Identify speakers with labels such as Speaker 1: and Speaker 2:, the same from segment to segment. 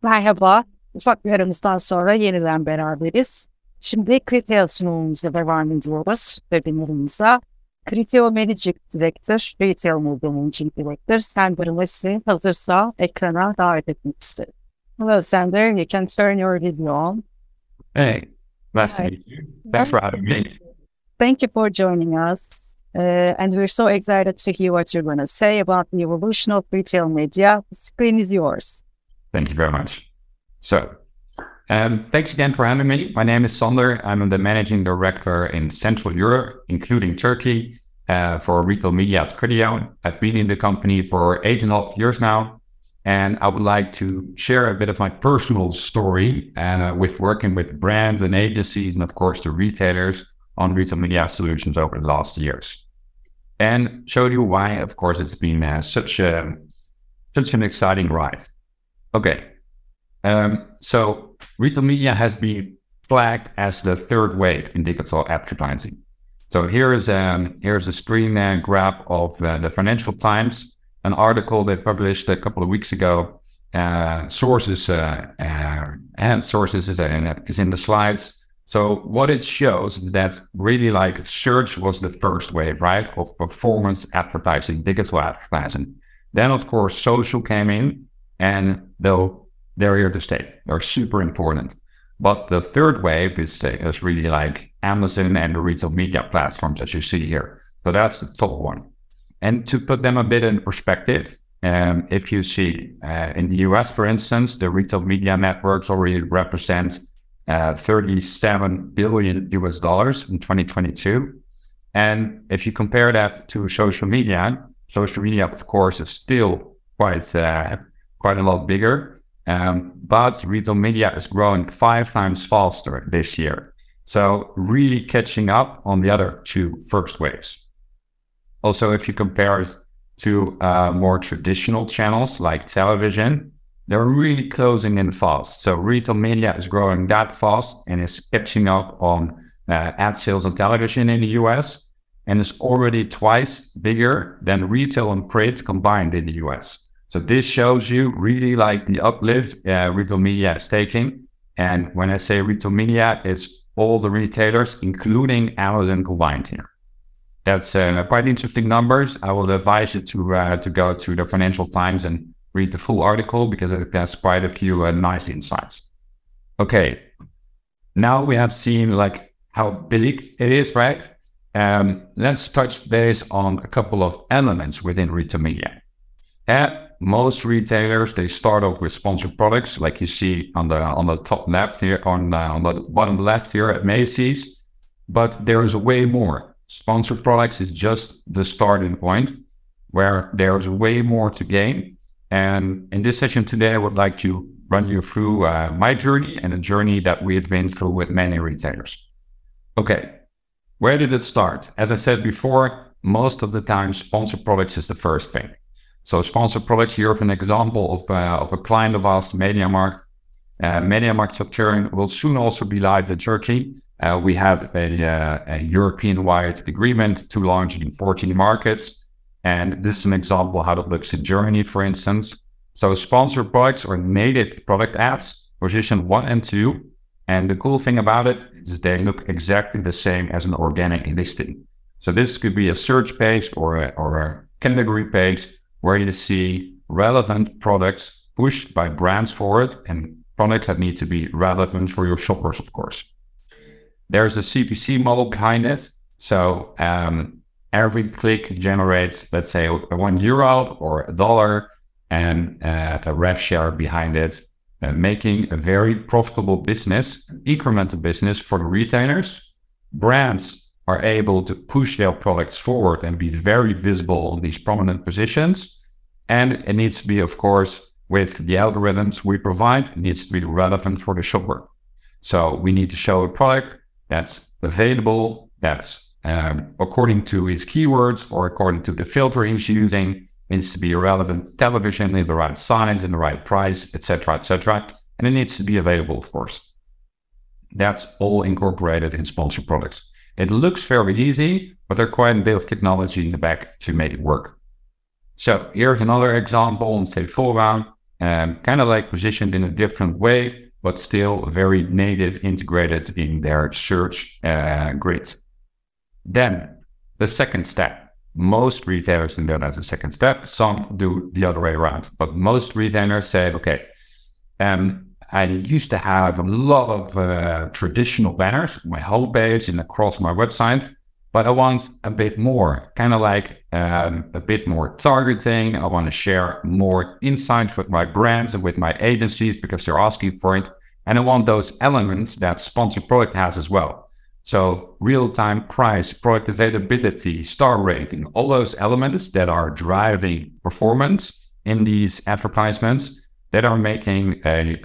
Speaker 1: Merhaba. Ufak bir aramızdan sonra yeniden beraberiz. Şimdi Criteo sunumumuza devam ediyoruz webinarımıza. Criteo Managing Director, Retail Media Managing Director, Sander Leslie hazırsa ekrana davet etmek isterim. Hello, Sander. You can turn your video on.
Speaker 2: Hey, nice to
Speaker 1: Hi.
Speaker 2: meet you. Thanks for having me.
Speaker 1: Thank you for joining us. And we're so excited to hear what you're going to say about the evolution of retail media. The screen is yours.
Speaker 2: Thank you very much. So, thanks again for having me. My name is Sander. I'm the managing director in Central Europe, including Turkey, for retail media at Criteo. I've been in the company for 8.5 years now, and I would like to share a bit of my personal story with working with brands and agencies, and of course the retailers on retail media solutions over the last years, and show you why, of course, it's been such an exciting ride. Okay, so retail media has been flagged as the third wave in digital advertising. So here is a screen grab of the Financial Times, an article they published a couple of weeks ago. Sources is in the slides. So what it shows is that really like search was the first wave, right, of performance advertising, digital advertising. Then of course social came in, and though they're here to stay, they're super important. But the third wave is really like Amazon and the retail media platforms, as you see here. So that's the top one. And to put them a bit in perspective, if you see in the US, for instance, the retail media networks already represent $37 billion in 2022. And if you compare that to social media, of course, is still quite a lot bigger. But retail media is growing 5 times faster this year. So really catching up on the other two first waves. Also, if you compare it to more traditional channels like television, they're really closing in fast. So retail media is growing that fast and is catching up on ad sales on television in the US, and is already twice bigger than retail and print combined in the US. So this shows you really like the uplift retail media is taking. And when I say retail media, it's all the retailers, including Amazon, combined here. That's quite interesting numbers. I will advise you to go to the Financial Times and read the full article, because it has quite a few nice insights. Okay, now we have seen like how big it is, right? Let's touch base on a couple of elements within retail media. Most retailers, they start off with sponsored products, like you see on the top left here, on the bottom left here at Macy's. But there is way more. Sponsored products is just the starting point, where there's way more to gain. And in this session today, I would like to run you through my journey and a journey that we have been through with many retailers. Okay, where did it start? As I said before, most of the time, sponsored products is the first thing. So sponsored products, here an example of a client of ours, MediaMarkt. MediaMarkt Saturn will soon also be live in Turkey. We have a European-wide agreement to launch in 14 markets. And this is an example of how it looks in Germany, for instance. So sponsored products or native product ads, position 1 and 2. And the cool thing about it is they look exactly the same as an organic listing. So this could be a search page or a category page where you see relevant products pushed by brands forward, and products that need to be relevant for your shoppers, of course. There's a CPC model behind it. So every click generates, let's say, €1 or $1, and a rev share behind it, making a very profitable business, an incremental business for the retailers. Brands are able to push their products forward and be very visible on these prominent positions. And it needs to be, of course, with the algorithms we provide, it needs to be relevant for the shopper. So we need to show a product that's available, that's according to his keywords or according to the filter he's using. It needs to be relevant television in the right size, in the right price, etc., etc. And it needs to be available, of course. That's all incorporated in sponsored products. It looks very easy, but there's quite a bit of technology in the back to make it work. So here's another example on Sephora. kind of like positioned in a different way, but still very native integrated in their search grid. Then the second step, most retailers do that as a second step. Some do the other way around, but most retailers say, okay, I used to have a lot of traditional banners, my homepage and across my website, but I want a bit more, kind of like a bit more targeting. I want to share more insights with my brands and with my agencies because they're asking for it. And I want those elements that Sponsored Product has as well. So real-time price, product availability, star rating, all those elements that are driving performance in these advertisements that are making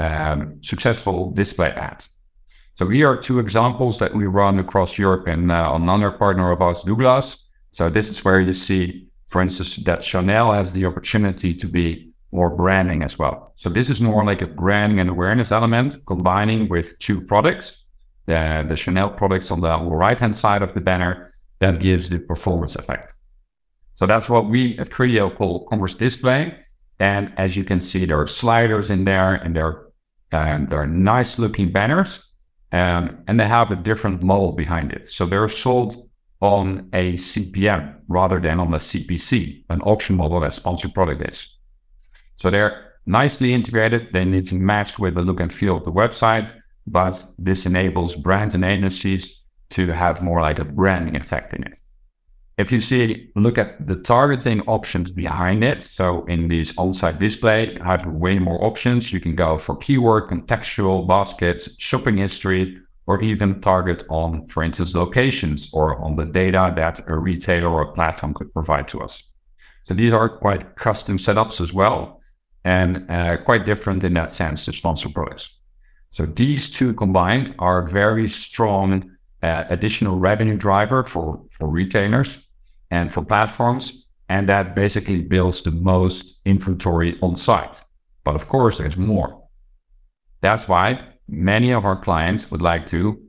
Speaker 2: a successful display ad. So here are two examples that we run across Europe and another partner of ours, Douglas. So this is where you see, for instance, that Chanel has the opportunity to be more branding as well. So this is more like a branding and awareness element combining with two products. The Chanel products on the right-hand side of the banner that gives the performance effect. So that's what we at Criteo call commerce display. And as you can see, there are sliders in there and they're nice looking banners. And they have a different model behind it. So they're sold on a CPM rather than on a CPC, an auction model that Sponsored Product is. So they're nicely integrated. They need to match with the look and feel of the website, but this enables brands and agencies to have more like a branding effect in it. If you look at the targeting options behind it, so in this on-site display, you have way more options. You can go for keyword, contextual, baskets, shopping history, or even target on, for instance, locations or on the data that a retailer or a platform could provide to us. So these are quite custom setups as well, and quite different in that sense to Sponsored Products. So these two combined are a very strong additional revenue driver for retailers and for platforms, and that basically builds the most inventory on site. But of course, there's more. That's why many of our clients would like to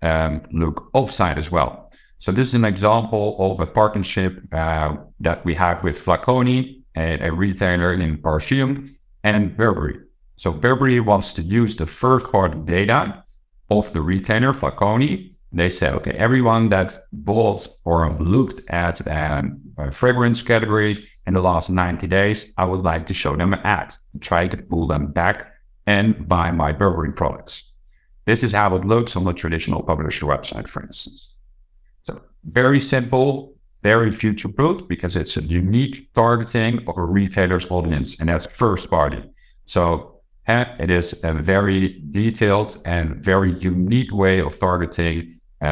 Speaker 2: look offsite as well. So this is an example of a partnership that we have with Flaconi, a retailer in perfume, and Burberry. So Burberry wants to use the first-party data of the retailer, Flaconi. They say, okay, everyone that bought or looked at a fragrance category in the last 90 days, I would like to show them an ad, try to pull them back and buy my Burberry products. This is how it looks on the traditional publisher website, for instance. So very simple, very future-proof because it's a unique targeting of a retailer's audience, and that's first party. So it is a very detailed and very unique way of targeting,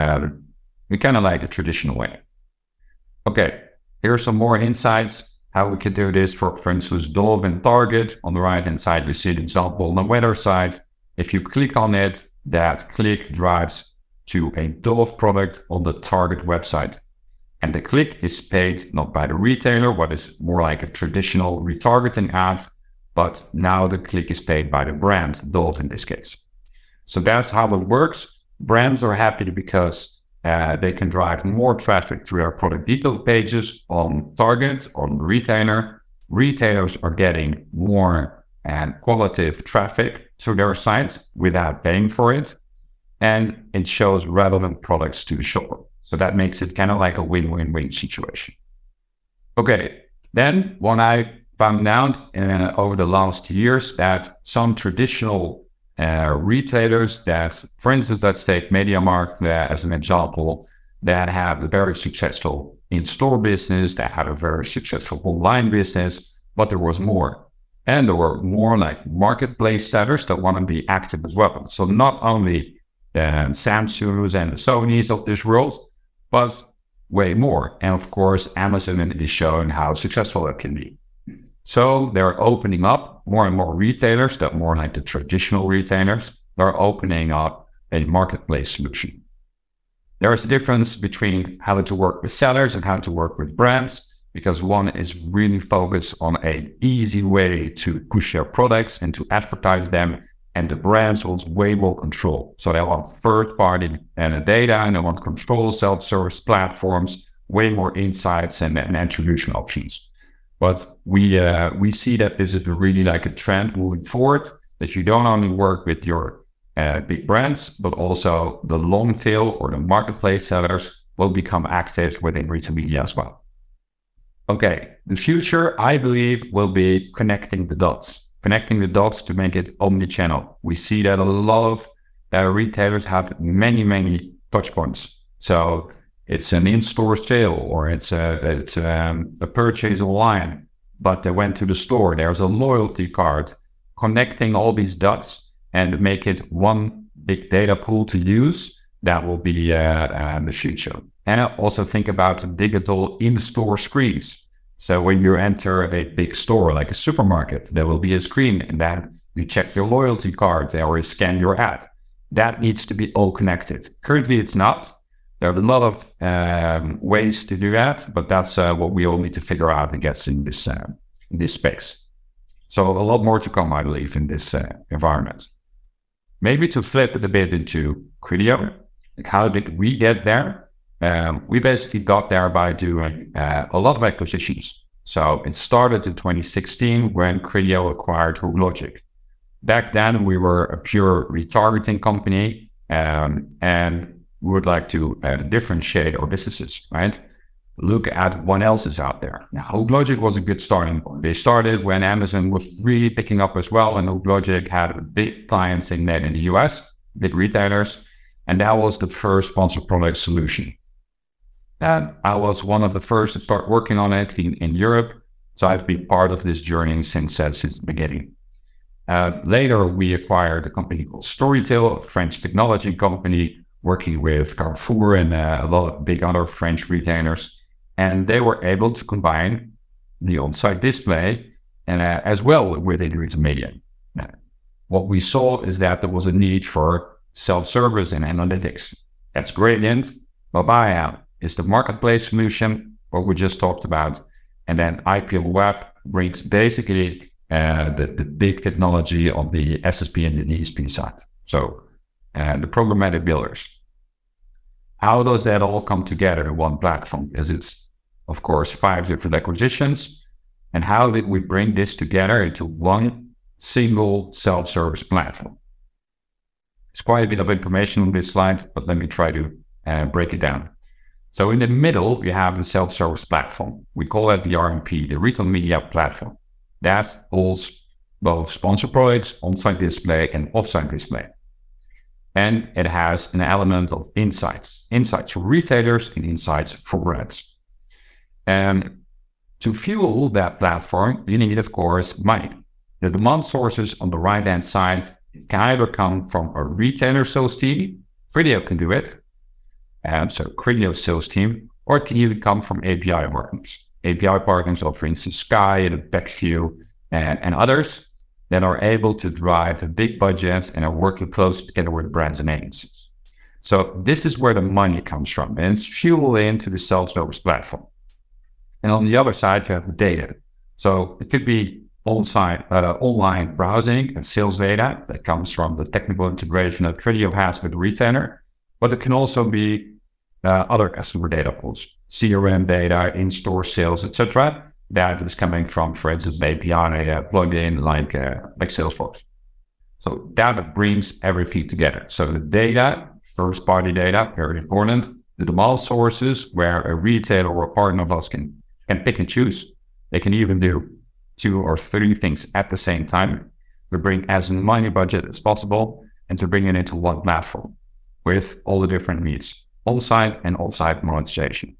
Speaker 2: kind of like a traditional way. Okay, here are some more insights how we can do this for instance, Dove and Target. On the right-hand side, we see an example on the weather side. If you click on it, that click drives to a Dove product on the Target website. And the click is paid not by the retailer, what is more like a traditional retargeting ad, but now the click is paid by the brand, Dove in this case. So that's how it works. Brands are happy because they can drive more traffic to their product detail pages on Target, on the retailer. Retailers are getting more qualitative traffic to their sites without paying for it. And it shows relevant products to the shopper. So that makes it kind of like a win-win-win situation. Okay, then what I found out over the last years that some traditional retailers that, for instance, let's take MediaMarkt as an example, that have a very successful in-store business, that had a very successful online business, but there was more. And there were more like marketplace sellers that want to be active as well. So not only the Samsungs and the Sonys of this world, but way more. And of course, Amazon is showing how successful it can be. So they're opening up more and more retailers that more like the traditional retailers. They're opening up a marketplace solution. There is a difference between how to work with sellers and how to work with brands, because one is really focused on an easy way to push their products and to advertise them, and the brands want way more control. So they want third-party data, and they want control, self-service platforms, way more insights and attribution options. But we see that this is really like a trend moving forward, that you don't only work with your big brands, but also the long tail or the marketplace sellers will become active within retail media as well. Okay, the future, I believe, will be connecting the dots to make it omni-channel. We see that a lot of retailers have many touch points. So it's an in-store sale, or it's a purchase online, but they went to the store. There's a loyalty card. Connecting all these dots and make it one big data pool to use, that will be the future. And I also think about digital in-store screens. So when you enter a big store, like a supermarket, there will be a screen, and then you check your loyalty card or you scan your app. That needs to be all connected. Currently, it's not. There are a lot of ways to do that, but that's what we all need to figure out, I guess, in this space. So a lot more to come, I believe, in this environment. Maybe to flip it a bit into Criteo, like how did we get there? We basically got there by doing a lot of acquisitions. So it started in 2016 when Criteo acquired HookLogic. Back then, we were a pure retargeting company, and we would like to differentiate our businesses, right? Look at what else is out there. Now, HookLogic was a good starting point. They started when Amazon was really picking up as well, and HookLogic had big clients in the US, big retailers, and that was the first sponsored product solution. And I was one of the first to start working on it in Europe, so I've been part of this journey since the beginning. Later, we acquired a company called Storytel, a French technology company working with Carrefour and a lot of big other French retailers. And they were able to combine the on-site display and as well within retail media. What we saw is that there was a need for self-service and analytics. That's Gradient. Mabaya is the marketplace solution, what we just talked about. And then IPL Web brings basically the big technology on the SSP and the DSP side. So the programmatic builders. How does that all come together in one platform? Because it's, of course, 5 different acquisitions. And how did we bring this together into one single self-service platform? It's quite a bit of information on this slide, but let me try to break it down. So in the middle, you have the self-service platform. We call that the RMP, the Retail Media Platform. That holds both sponsored products, on-site display, and off-site display. And it has an element of insights for retailers and insights for brands. And to fuel that platform, you need, of course, money. The demand sources on the right-hand side can either come from a retailer sales team, Criteo can do it, so Criteo sales team, or it can even come from API partners. API partners of, for instance, Sky and Backview and others that are able to drive big budgets and are working close together with brands and agencies. So this is where the money comes from, and it's fueled into the self-service platform. And on the other side, you have the data. So it could be on-site, online browsing and sales data that comes from the technical integration that Criteo has with the retailer, but it can also be other customer data pools, CRM data, in-store sales, etc. That is coming from, for instance, an API plugin like Salesforce. So that brings everything together. So the data, first-party data, very important. The demand sources where a retailer or a partner of us can pick and choose. They can even do 2 or 3 things at the same time to bring as many budget as possible and to bring it into one platform with all the different needs, on-site and off-site monetization.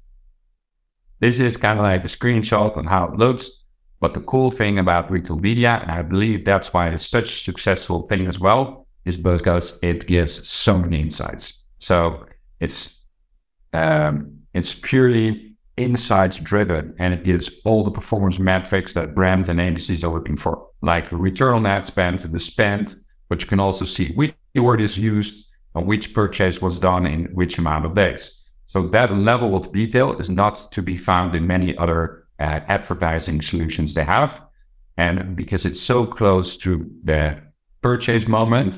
Speaker 2: This is kind of like a screenshot on how it looks, but the cool thing about retail media, and I believe that's why it's such a successful thing as well, is because it gives so many insights. So it's purely insights driven, and it gives all the performance metrics that brands and agencies are looking for, like return on ad spend, the spend, but you can also see which keyword is used and which purchase was done in which amount of days. So that level of detail is not to be found in many other advertising solutions they have. And because it's so close to the purchase moment,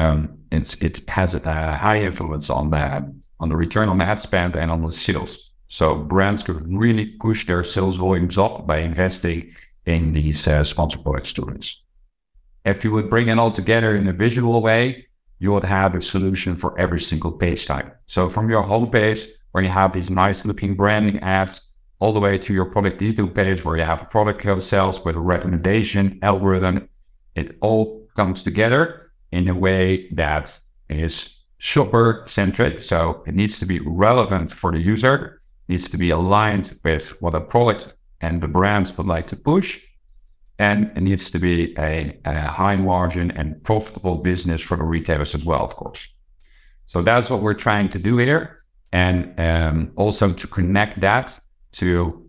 Speaker 2: it has a high influence on the return on ad spend and on the sales. So brands could really push their sales volumes up by investing in these sponsored product students. If you would bring it all together in a visual way, you would have a solution for every single page type. So from your homepage, where you have these nice looking branding ads, all the way to your product detail page, where you have product sales with a recommendation algorithm, it all comes together in a way that is shopper centric. So it needs to be relevant for the user, needs to be aligned with what a product and the brands would like to push. And it needs to be a high margin and profitable business for the retailers as well, of course. So that's what we're trying to do here. And also to connect that to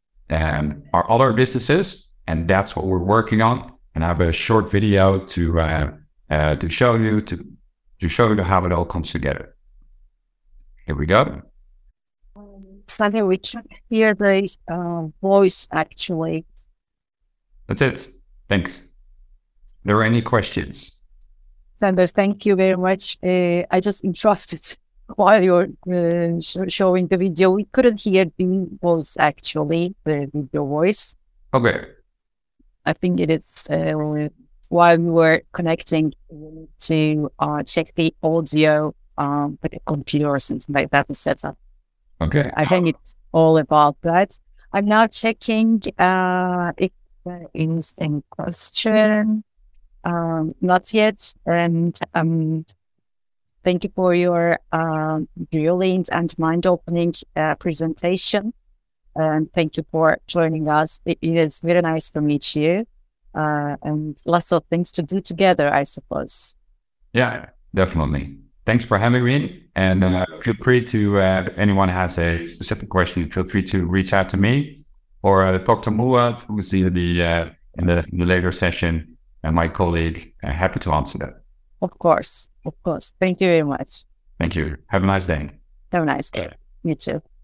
Speaker 2: our other businesses. And that's what we're working on. And I have a short video to show you how it all comes together. Here we go.
Speaker 1: Sander, we can hear the voice actually.
Speaker 2: That's it. Thanks. Are there any questions?
Speaker 1: Sander, thank you very much. I just interrupted while you're showing the video. We couldn't hear the voice actually, the video voice.
Speaker 2: Okay.
Speaker 1: I think it is while we were connecting to check the audio with the computer or something like that, the setup.
Speaker 2: Okay.
Speaker 1: I think it's all about that. I'm now checking if there is any question. Not yet. And thank you for your brilliant and mind-opening presentation. And thank you for joining us. It is very nice to meet you. And lots of things to do together, I suppose.
Speaker 2: Yeah, definitely. Thanks for having me. And feel free to, if anyone has a specific question, feel free to reach out to me or talk to Muad, who is in the later session, and my colleague. Happy to answer that.
Speaker 1: Of course. Thank you very much.
Speaker 2: Thank you. Have a nice day.
Speaker 1: Have a nice day. You too.